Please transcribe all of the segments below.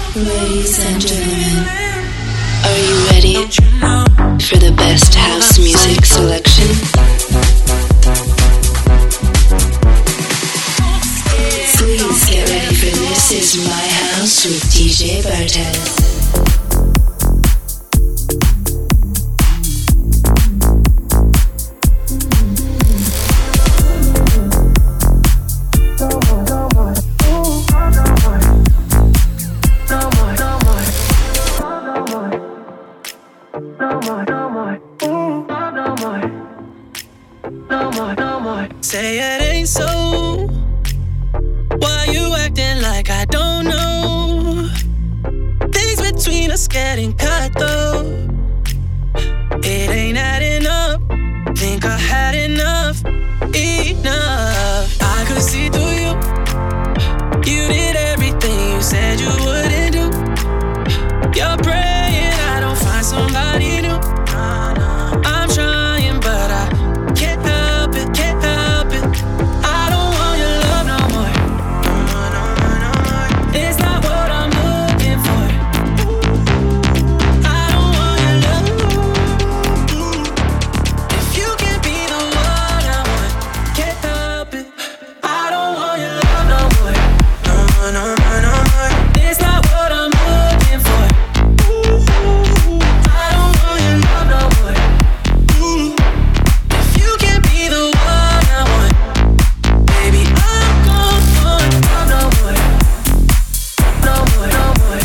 Ladies and gentlemen, are you ready for the best house music selection? Please get ready for This Is My House with DJ Bartez. Say it ain't so. Why you acting like I don't know? Things between us getting cut though. It ain't adding up. Think I had enough. I could see through you. You did everything you said you wouldn't do. You're praying I don't find somebody new. I'm trying but I can't help it, can't help it. I don't want your love no more. No more. It's not what I'm looking for. I don't want your love. If you can't be the one I want, can't help it. I don't want your love no more. No more. It's not what I'm looking for. I don't want your love no more. If you can't be the one I want, baby, I'm gone for love no more. No more. No more.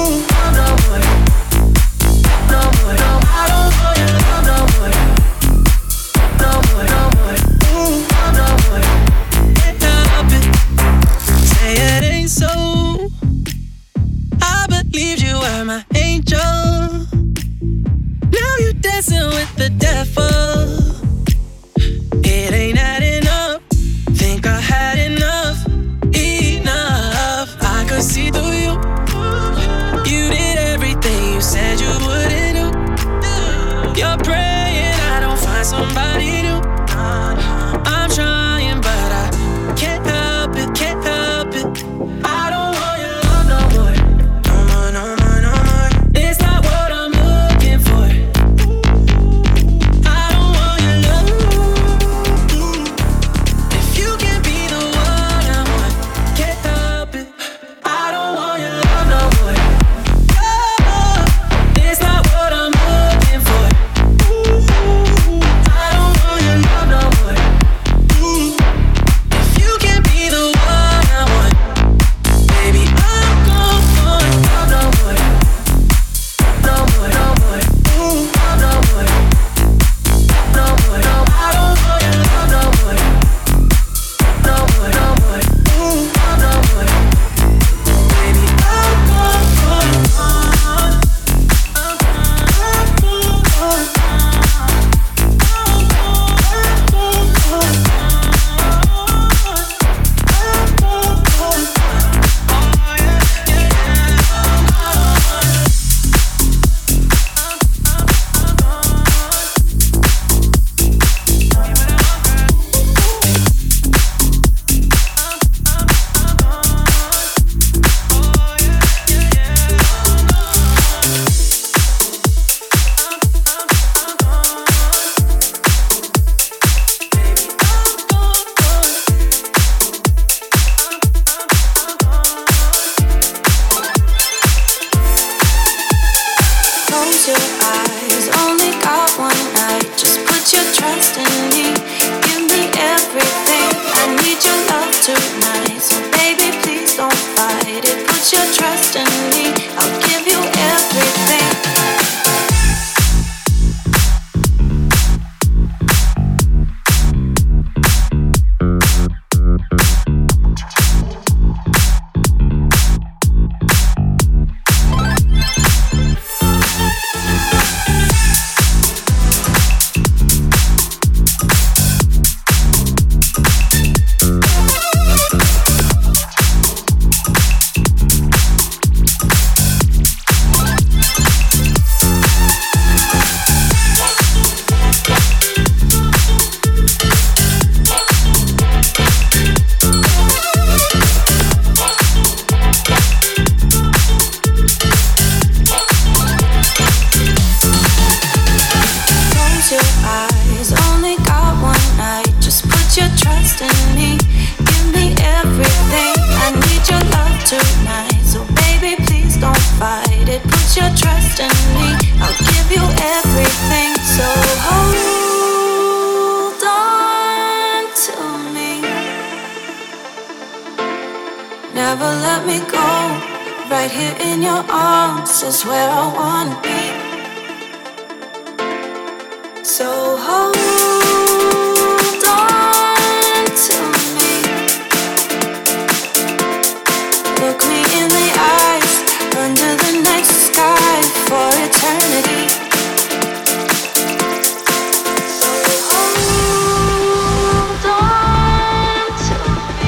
I don't want your love no more. No more. Can't help it. Say it ain't so. I believed you were my angel. Now you're dancing with the devil. It ain't adding up. Think I had enough. I could see through you. You did everything you said you wouldn't do. You're praying I don't find somebody new. I'm trying but I can't help it, can't help it. I don't want your love no more. No more. It's not what I'm looking for. I don't want your love. If you can't be the one I want, can't help it. I don't want your love no more. It's not what I'm looking for. I don't want your love no more. If you can't be the one I want, baby, I'm gone for love no more. No more. I don't want your love no more. No more. Baby, I'm gone for Close your eyes, only got one night. Just put your trust in me. Give me everything. I need your love tonight. So baby, please don't fight it. Put your trust in me. I'll give you everything. your trust in me. I'll give you everything. So hold on to me. Never let me go. Right here in your arms is where I wanna be. So hold on to me. Look me in the eyes under the night sky for eternity. So hold on to me.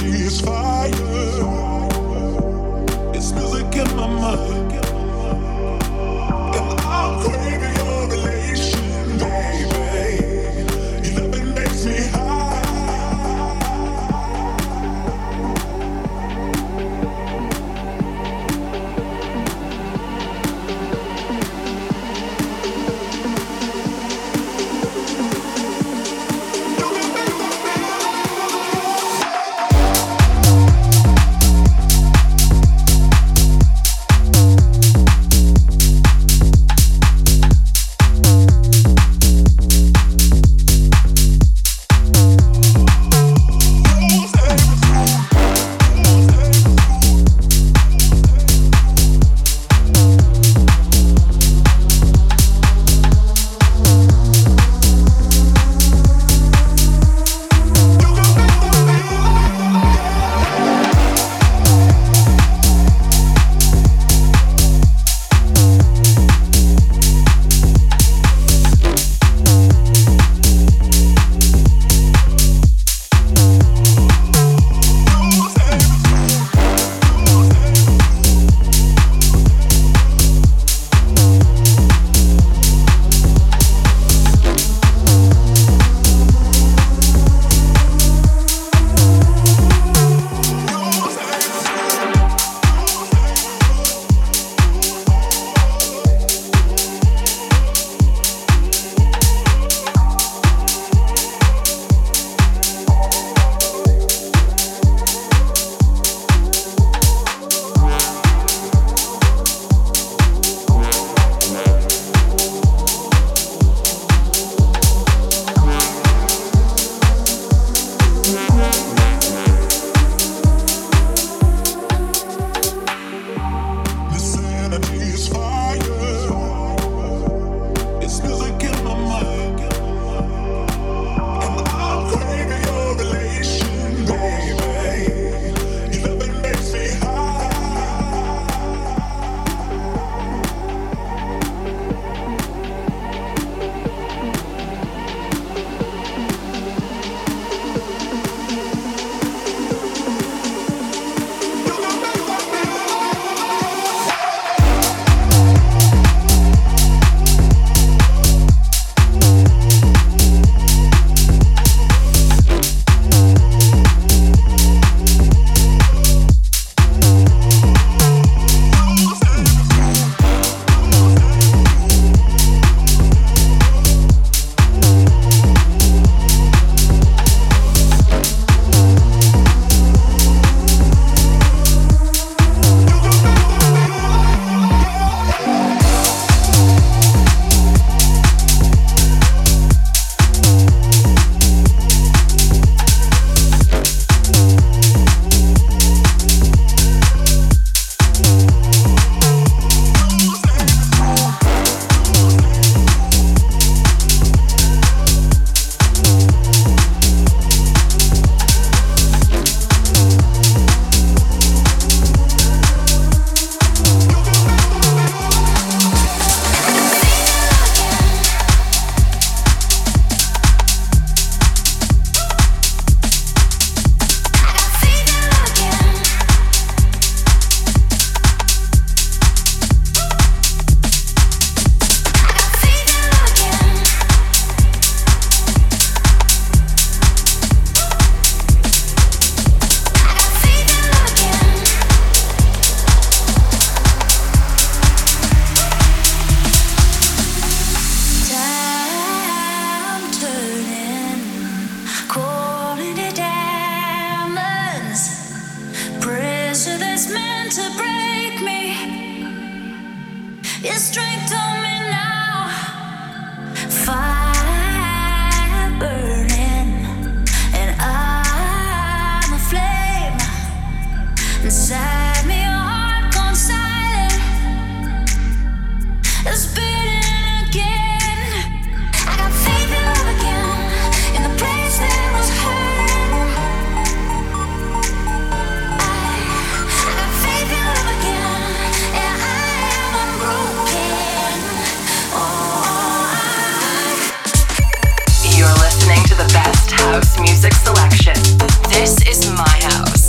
House music selection. This is my house.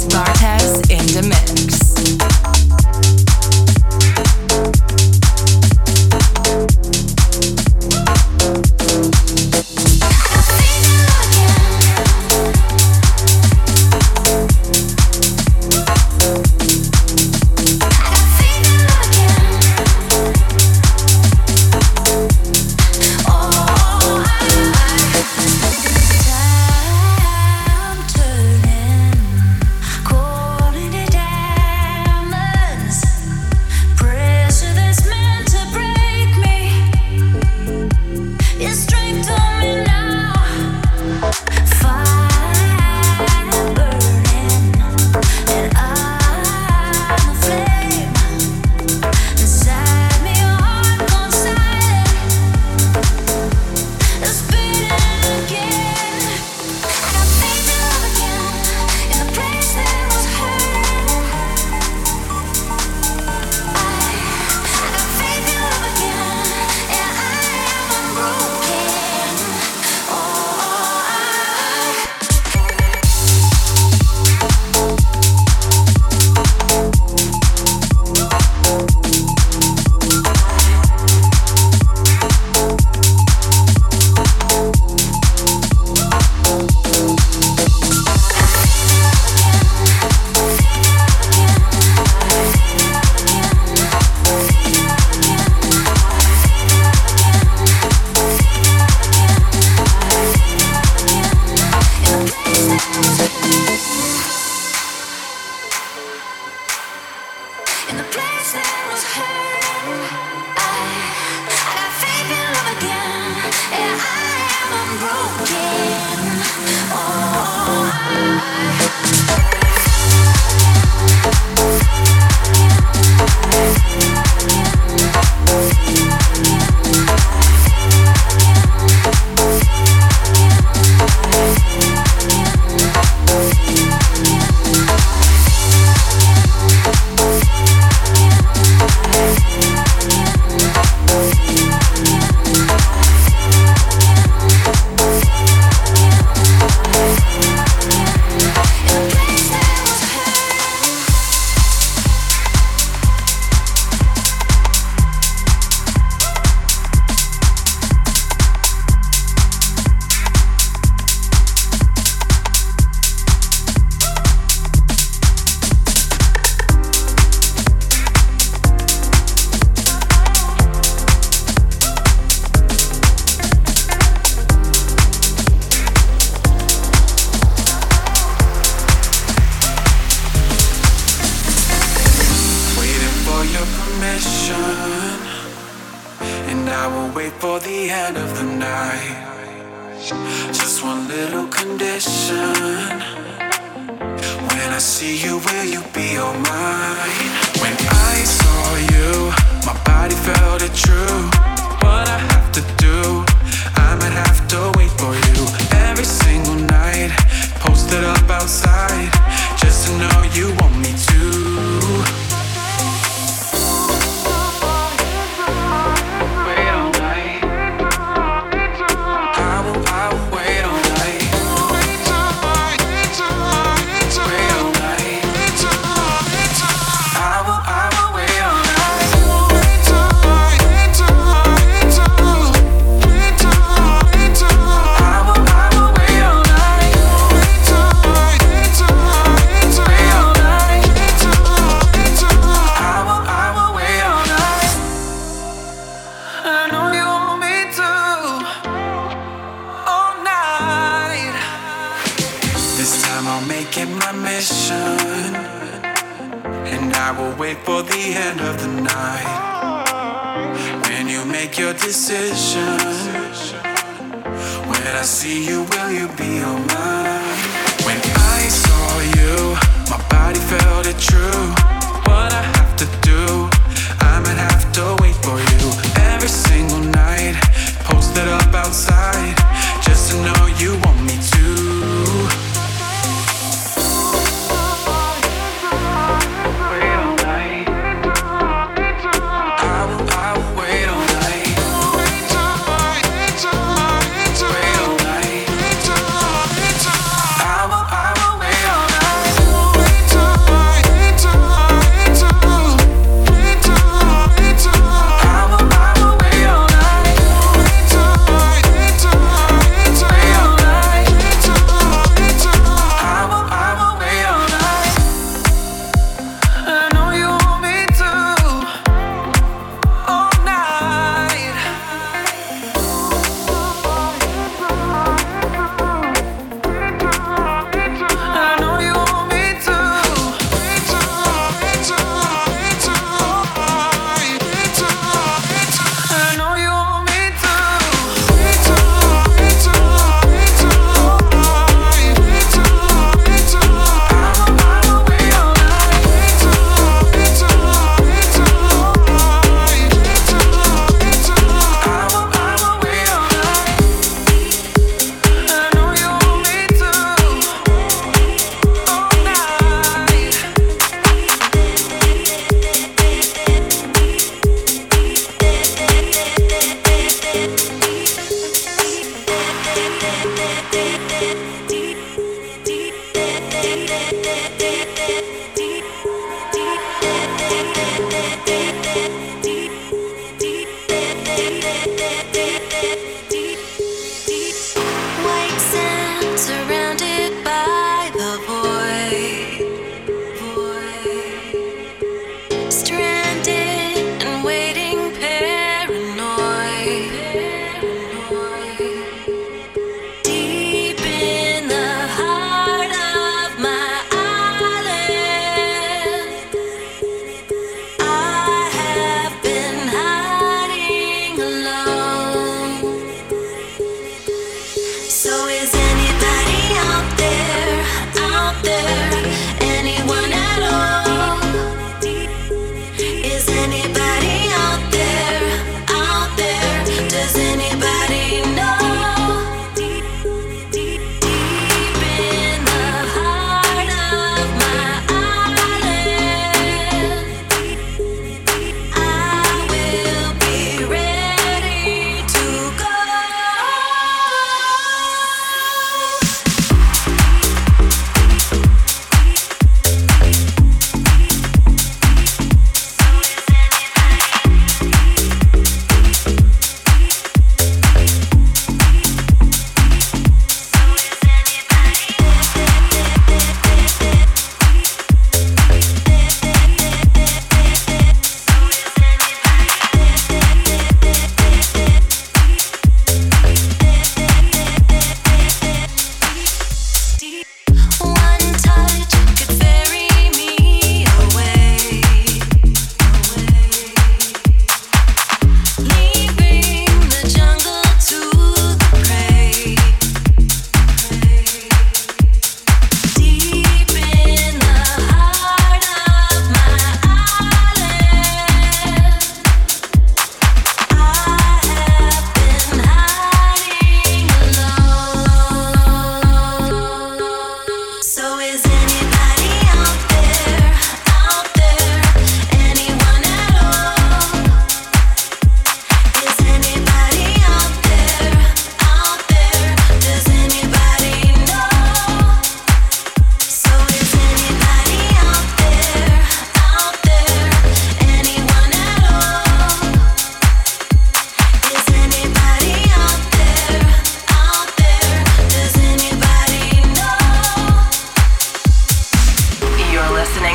I will wait all night.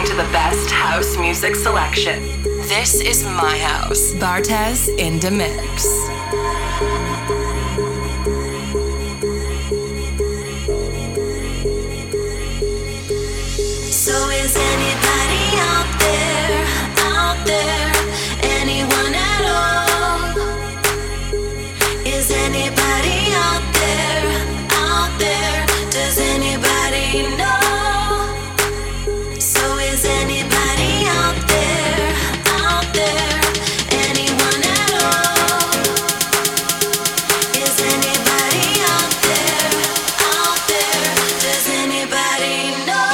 listening to the best house music selection. This is my house. Bartez in the mix. So is anybody out there, anyone at all? Is anybody out there, does anybody know? So is anybody out there, anyone at all? Is anybody out there, does anybody know?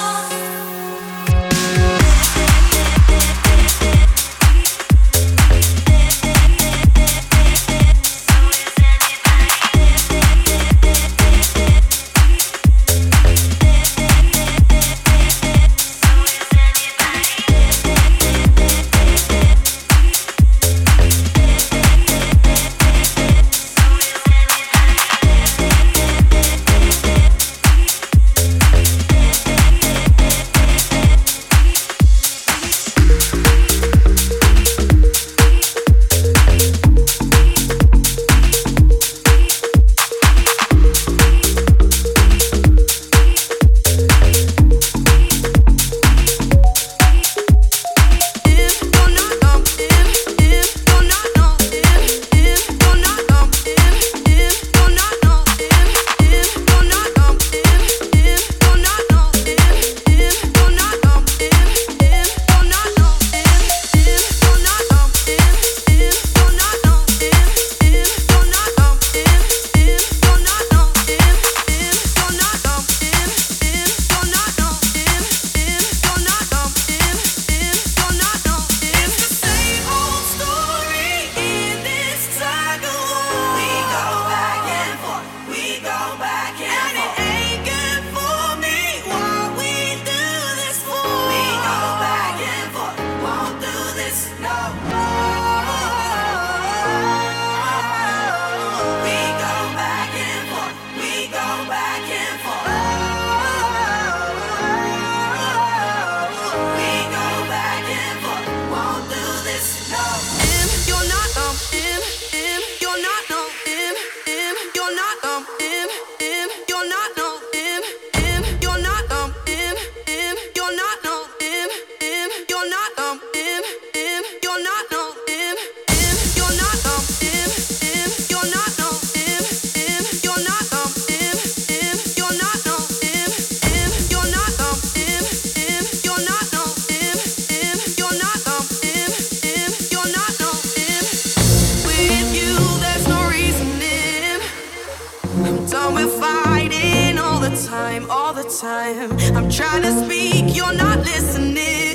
I'm trying to speak, you're not listening.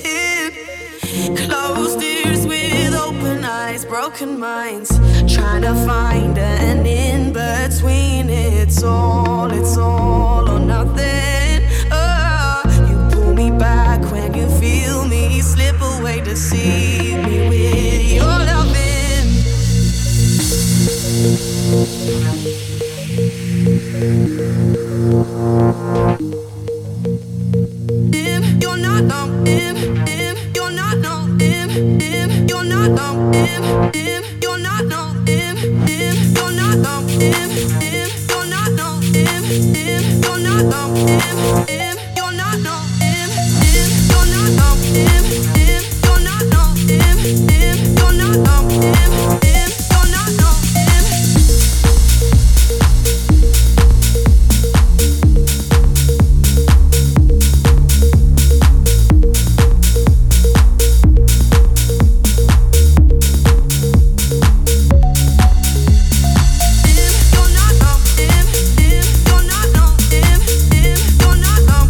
Closed ears with open eyes, broken minds, trying to find an in between. It's all or nothing. Oh, you pull me back when you feel me slip away, deceive me with your loving. You're not you're not you're not you're not you're not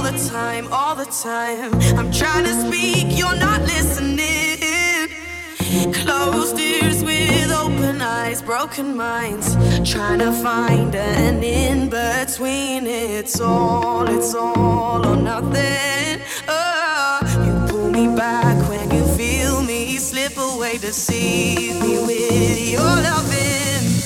all the time. I'm trying to speak, you're not listening. Closed ears with open eyes, broken minds, trying to find an in between. It's all or nothing. Oh, you pull me back when you feel me slip away, deceive me with your loving.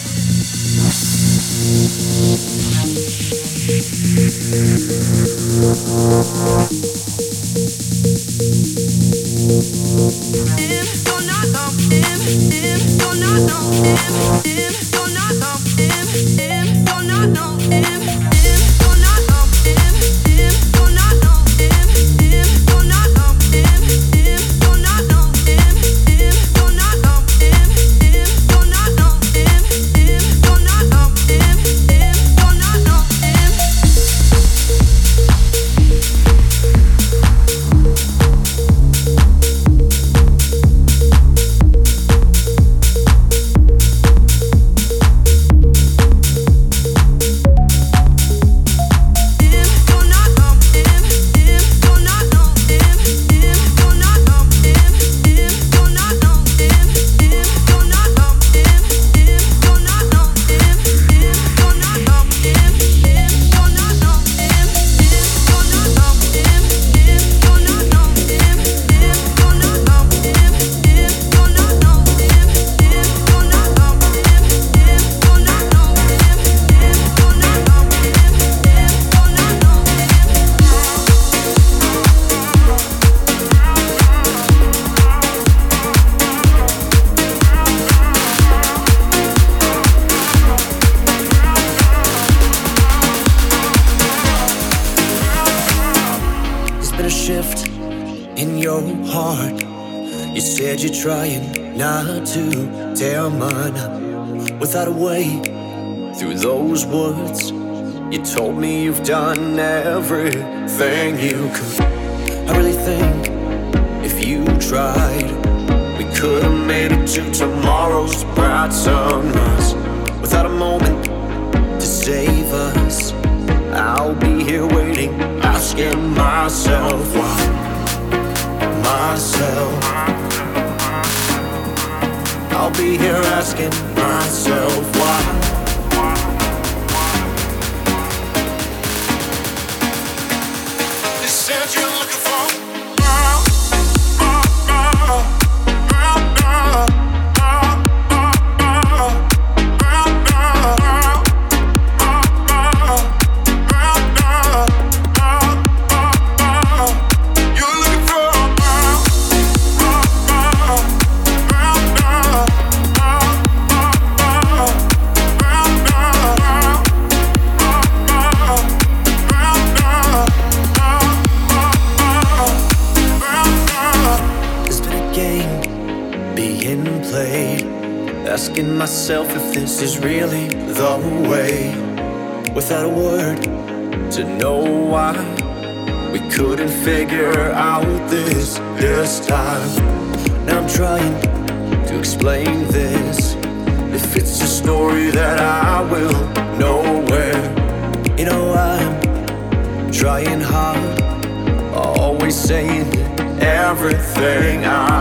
Trying not to tear mine up without a way through those words. You told me you've done everything you could. I really think if you tried, we could have made it to tomorrow's bright sunrise. Without a moment to save us, I'll be here waiting, asking myself why. I'll be here asking myself why. You said you're looking for asking myself if this is really the way. Without a word to know why we couldn't figure out this time. Now I'm trying to explain this. If it's a story that I will nowhere. You know I'm trying hard, always saying everything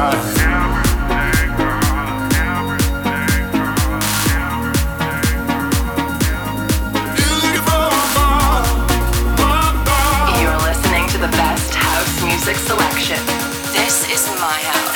Music selection. This is my house.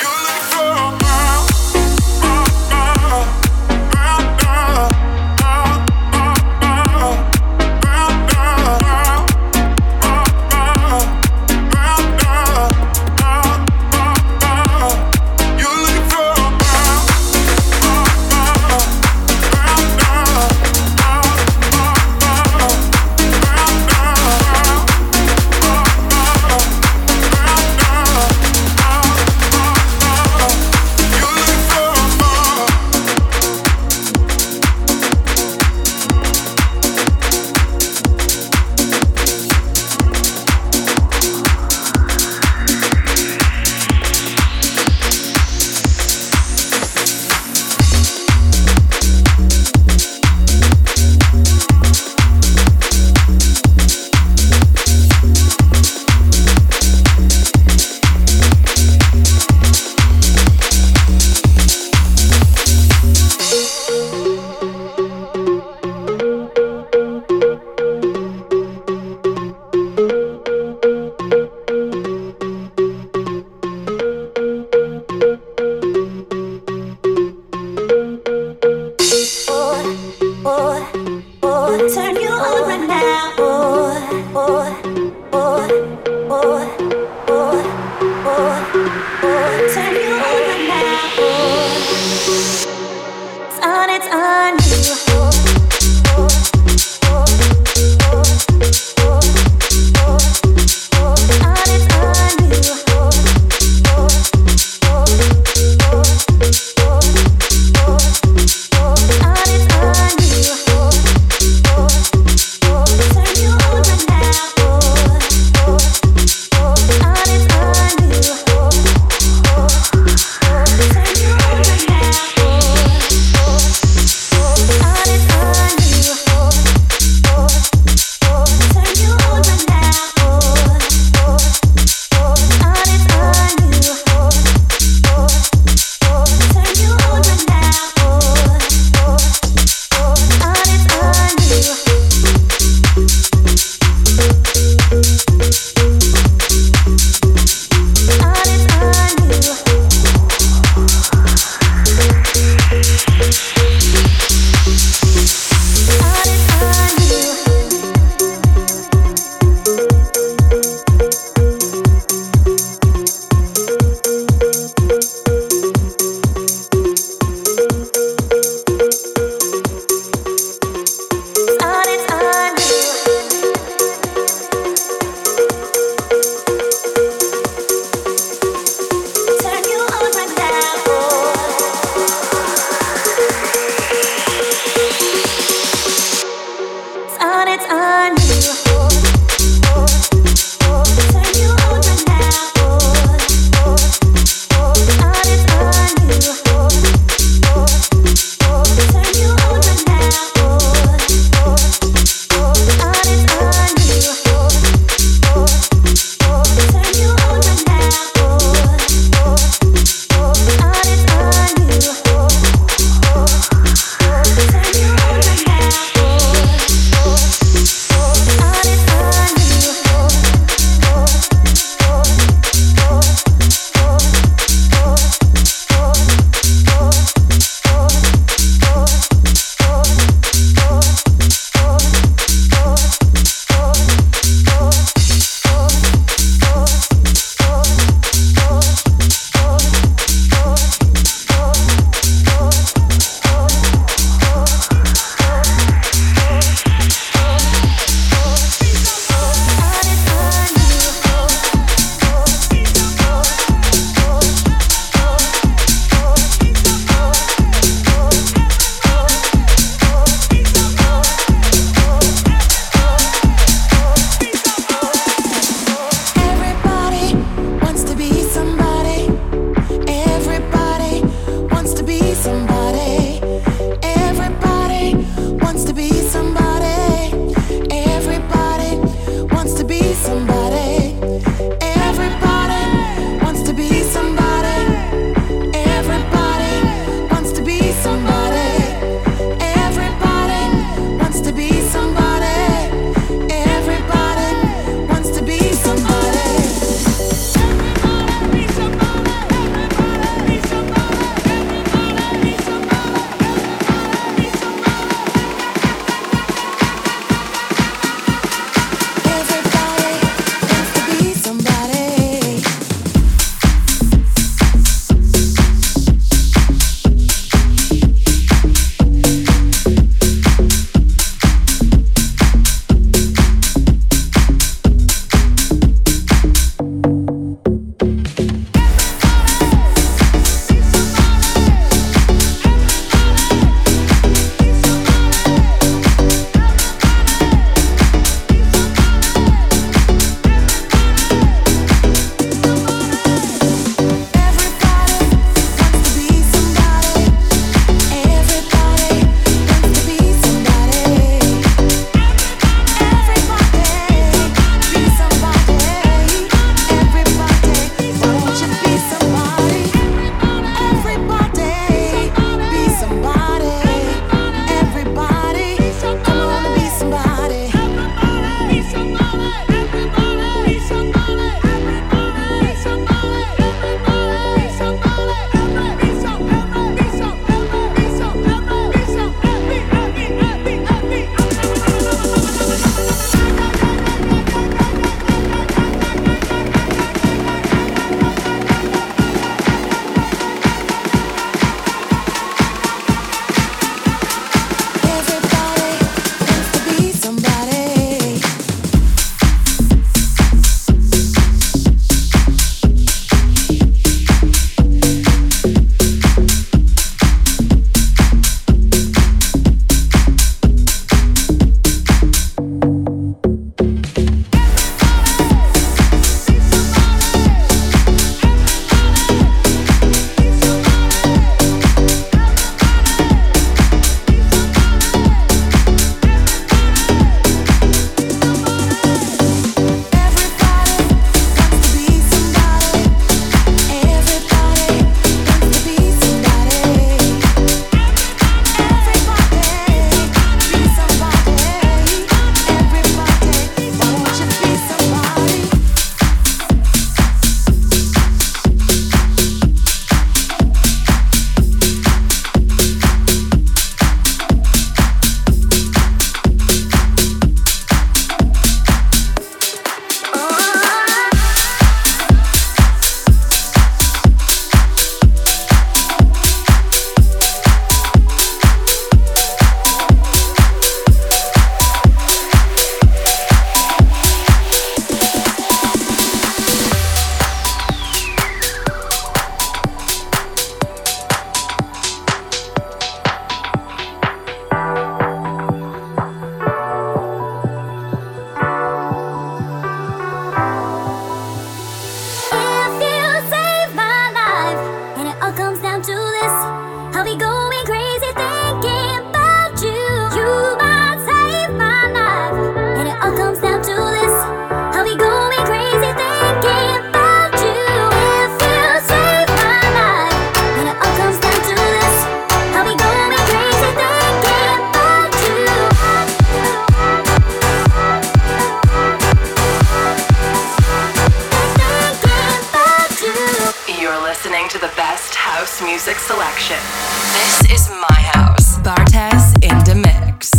listening to the best house music selection. This is my house. Bartez in the mix.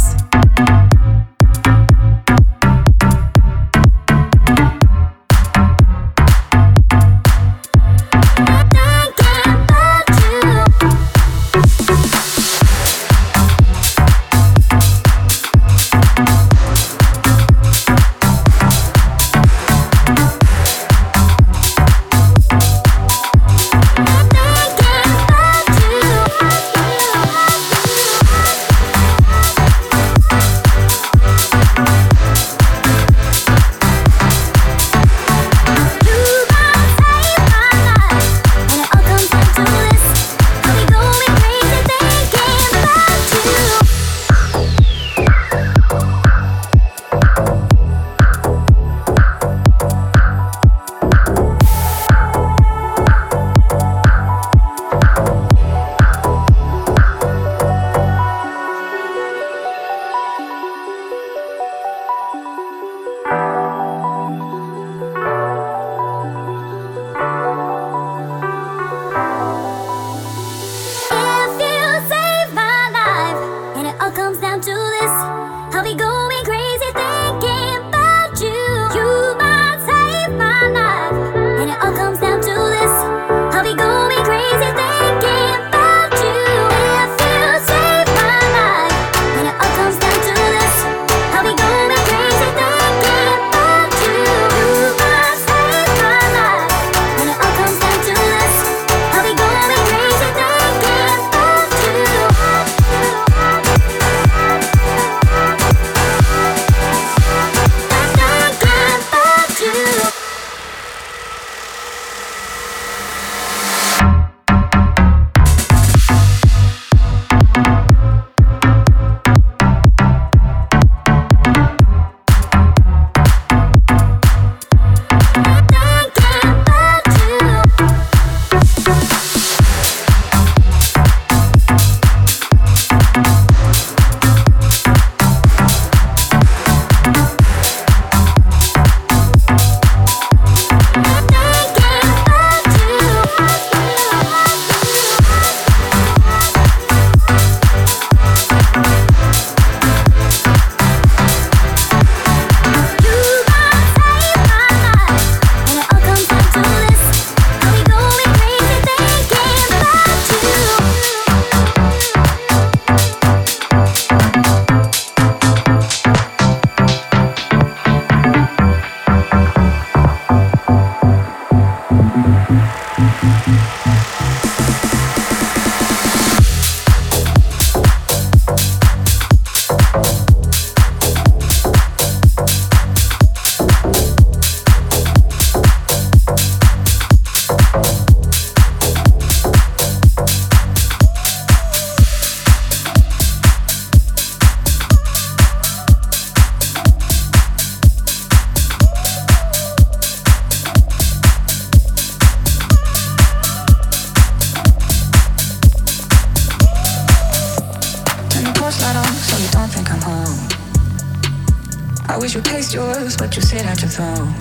But you sit at your throne.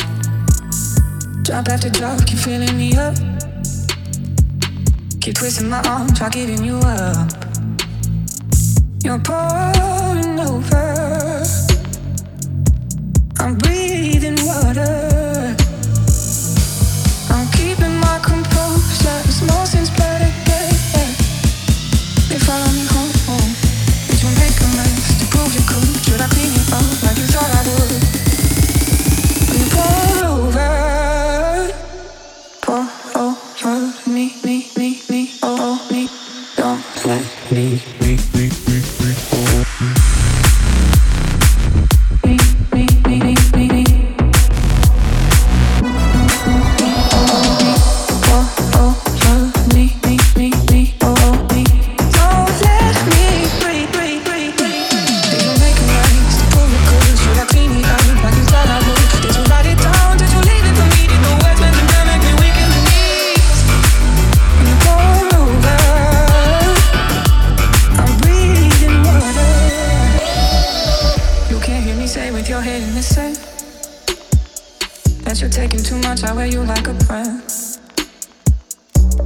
Drop after drop, keep filling me up. Keep twisting my arm, try giving you up. You're pouring over. I'm breathing water. I'm keeping my composure. Emotions better get. They follow me home. Did you make a mess to prove you could? Should I clean you up like you thought I would? Pour over me, oh me. Don't let me.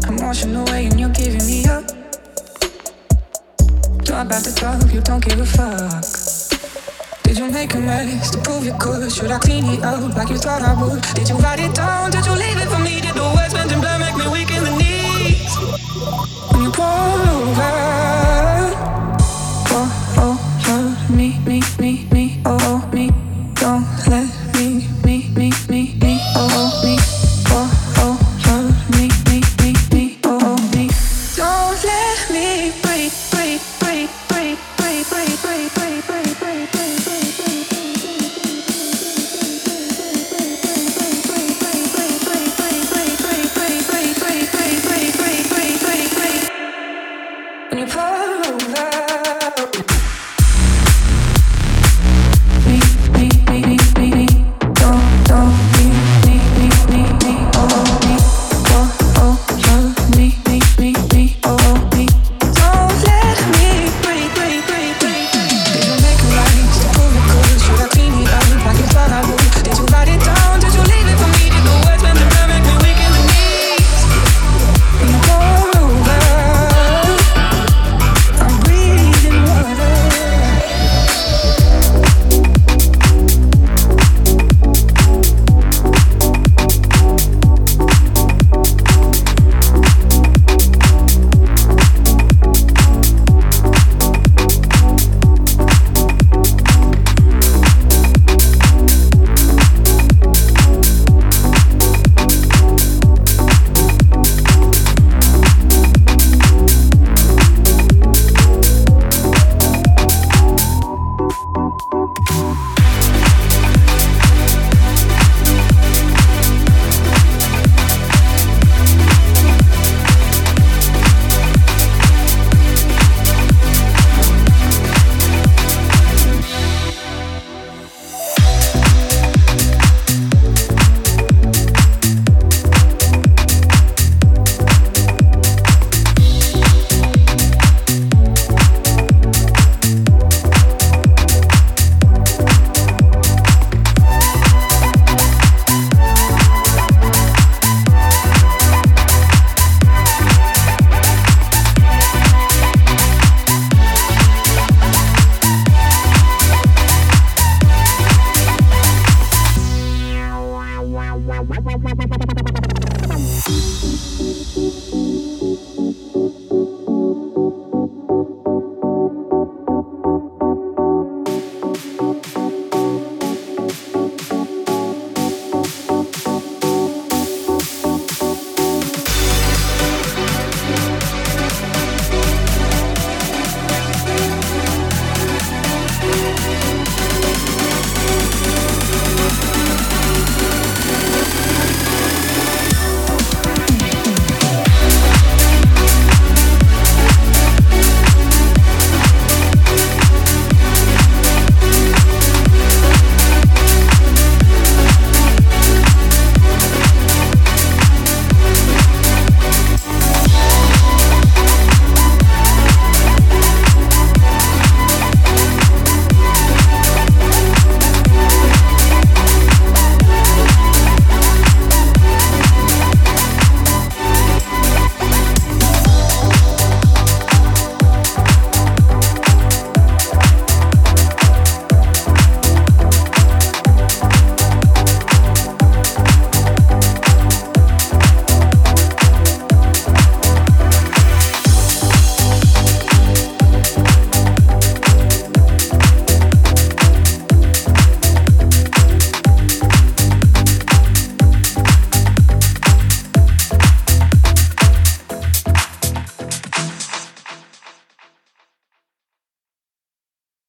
I'm washing away and you're giving me up. Talk about the talk, you don't give a fuck. Did you make a mess to prove you could? Should I clean it up like you thought I would? Did you write it down?